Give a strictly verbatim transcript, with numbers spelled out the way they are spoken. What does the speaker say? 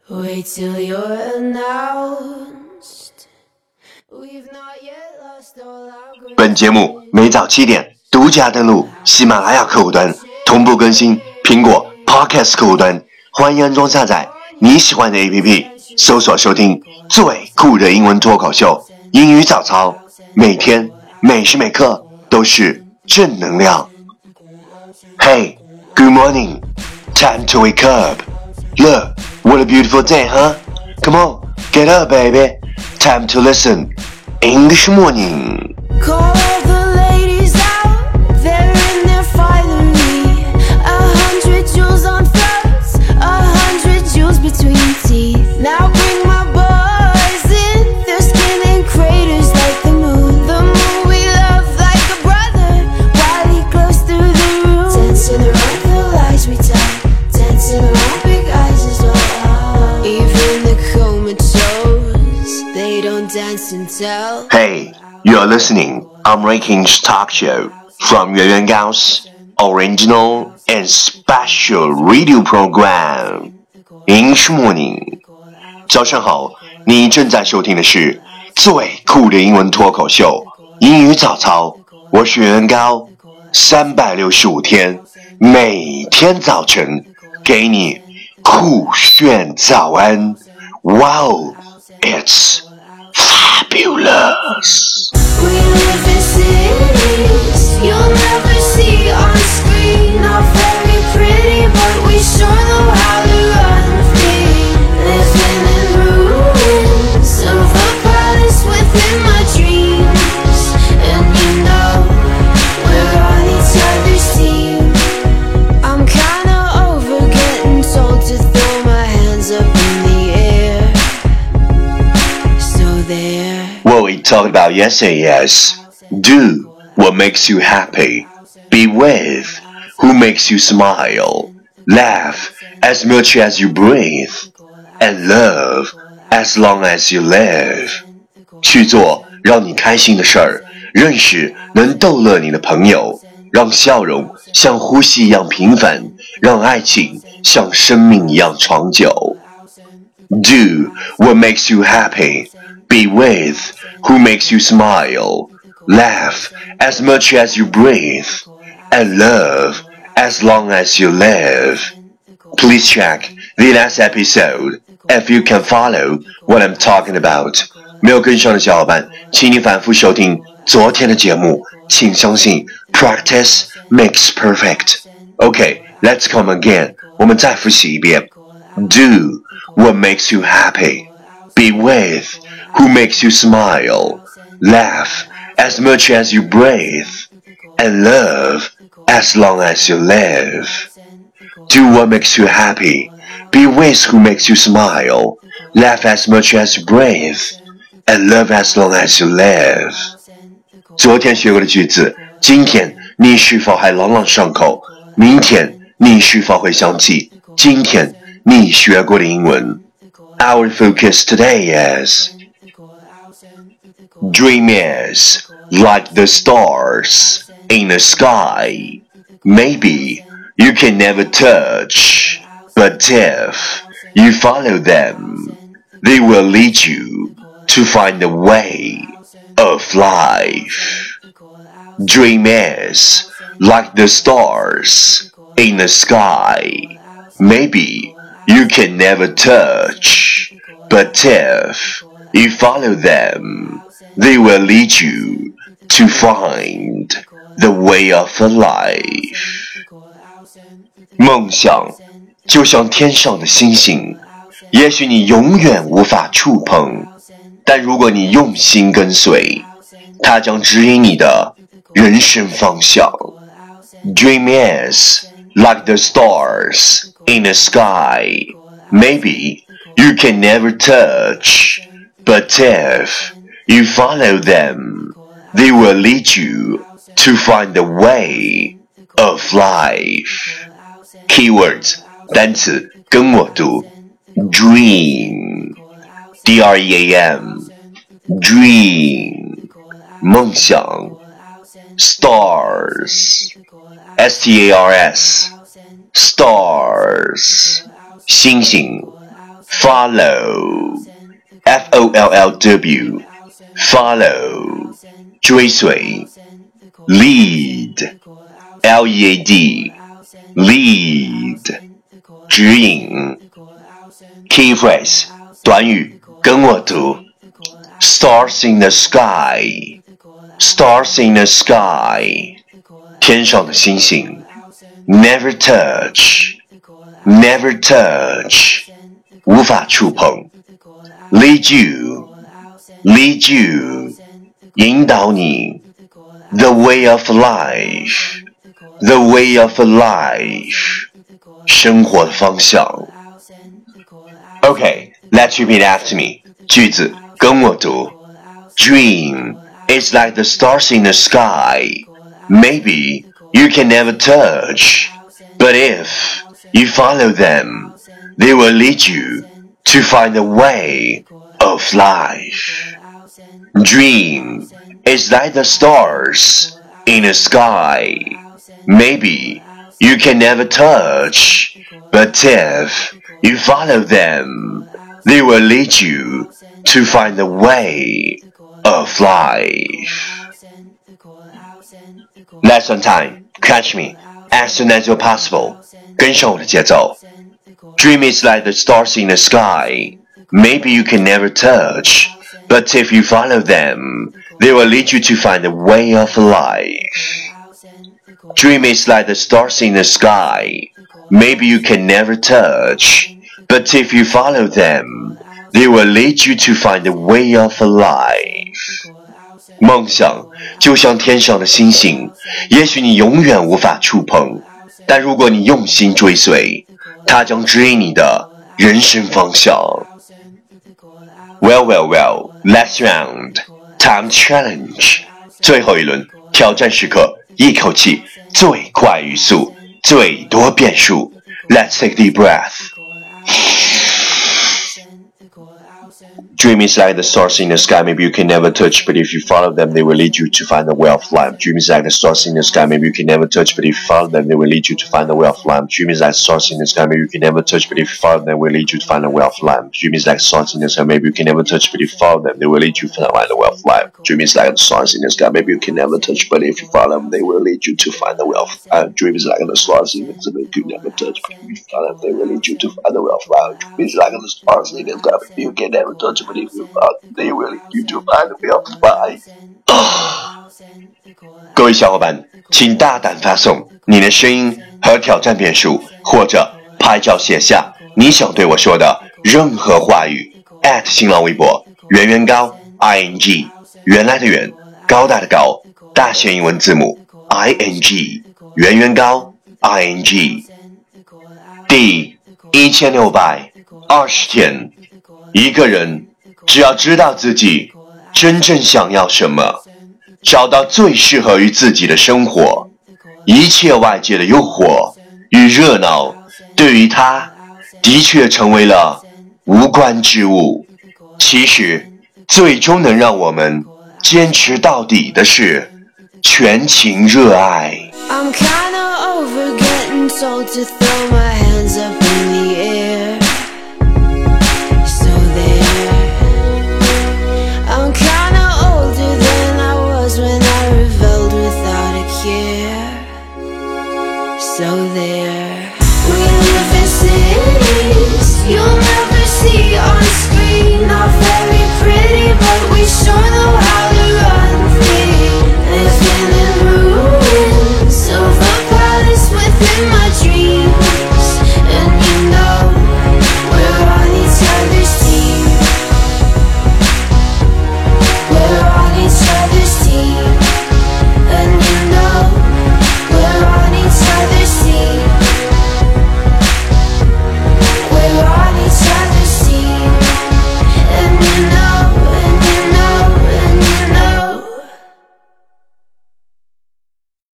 Wait till you're announced. We've not yet lost all our 本节目每早七点独家登录喜马拉雅客户端，同步更新苹果 Podcast 客户端，欢迎安装下载你喜欢的 A P P， 搜索收听最酷的英文脱口秀英语早操，每天每时每刻都是正能量。 Hey, good morning, time to wake up. Look, what a beautiful day, huh? Come on, get up, baby. Time to listen English morning. Call all the ladies out, they're in their finery. A hundred jewels on throats, a hundred jewels between teeth. Now bring my boys in, their skin in craters like the moon. The moon we love like a brother, while he glows through the room. Dancing around the lies we tell, dancing around big eyes as well. Even the comatose, they don't dance and tell. Hey, you're listening American's talk show from Yuan Yuan Gao's original and special radio program English Morning. 早上好，你正在收听的是最酷的英文脱口秀英语早操，我是袁高，三百六十五天，每天早晨给你酷炫早安。Wow, it's fabulous. We live in cities you'll never see on screen. Not very pretty, but we sure know how to run free. Living in ruins of a palace within my dreams. And you know, we're on each other's team. I'm kinda over getting told to throw my hands up in the air. So there. What we talked about yesterday is do what makes you happy, be with who makes you smile, laugh as much as you breathe, and love as long as you live. 去做让你开心的事儿，认识能逗乐你的朋友，让笑容像呼吸一样平凡，让爱情像生命一样长久。Do what makes you happy, be with who makes you smile, laugh as much as you breathe, and love as long as you live. Please check the last episode if you can follow what I'm talking about. 没有跟上的小伙伴，请你反复收听昨天的节目，请相信 practice makes perfect. Okay, let's come again. 我们再复习一遍。Do what makes you happy, be with who makes you smile, laugh as much as you breathe, and love as long as you live. Do what makes you happy, be with who makes you smile, laugh as much as you breathe, and love as long as you live. 昨天学过的句子，今天你是否还朗朗上口？明天你是否会想起今天你学过的英文？ Our focus today is Dream is like the stars in the sky. Maybe you can never touch, but if you follow them, they will lead you to find the way of life. Dream is like the stars in the sky. Maybe you can never touch, but if you follow them, they will lead you to find the way of life. 梦想就像天上的星星，也许你永远无法触碰，但如果你用心跟随，它将指引你的人生方向。Dream is like the stars in the sky. Maybe you can never touch, but if you follow them, they will lead you to find the way of life. Keywords 单词跟我读 Dream D R E A M Dream 梦想 Stars S T A R S Stars 星星 follow, F O L L W, follow, 追随 lead, L E A D, lead, 指引 key phrase, 短语跟我读 stars in the sky, stars in the sky, 天上的星星 never touch, never touch, 无法触碰 lead you, lead you, 引导你 the way of life, the way of life, 生活的方向 Okay, let's repeat after me. 句子跟我读 Dream is like the stars in the sky. Maybe you can never touch, but if you follow them, they will lead you to find the way of life. Dream is like the stars in the sky. Maybe you can never touch, but if you follow them, they will lead you to find the way of life. Lesson time. Catch me as soon as you're possible. 跟上我的节奏 Dream is like the stars in the sky. Maybe you can never touch, but if you follow them, they will lead you to find the way of life. Dream is like the stars in the sky. Maybe you can never touch, but if you follow them, they will lead you to find the way of life. 梦想就像天上的星星，也许你永远无法触碰，但如果你用心追随，它将指引你的人生方向。Well, well, well, last round, time challenge. 最后一轮挑战时刻，一口气最快语速，最多变数。Let's take a deep breath. Dream is like the stars in the sky. Maybe you can never touch, but if you follow them, they will lead you to find the way of life. Dream is like the stars in the sky. Maybe you can never touch, but if you follow them, they will lead you to find the way of life. Dream is like stars in the sky. Maybe you can never touch, but if you follow them, they will lead you to find the way of life. Dream is like stars in the sky. Maybe you can never touch, but if you follow them, they will lead you to find the way of life. Dream is like the stars in the sky. Maybe you can never touch, but if you follow them, they will lead you to find the way of life. Dream is like the stars in the sky. Maybe you can never touch, but if you follow them, they will lead you to find the way of life. Dream is like the stars in the sky. Maybe you can never touch, but if you follow them, they will lead you to find the way of life. 各位小伙伴，请大胆发送你的声音和挑战变数，或者拍照写下你想对我说的任何话语 at 新浪微博圆圆高 ing 原来的圆高大的高大写英文字母 ing 圆圆高 ing 第一千六百二十天，一个人只要知道自己真正想要什么，找到最适合于自己的生活，一切外界的诱惑与热闹对于他的确成为了无关之物。其实最终能让我们坚持到底的是全情热爱。 I'm kinda over getting told to throw my hands up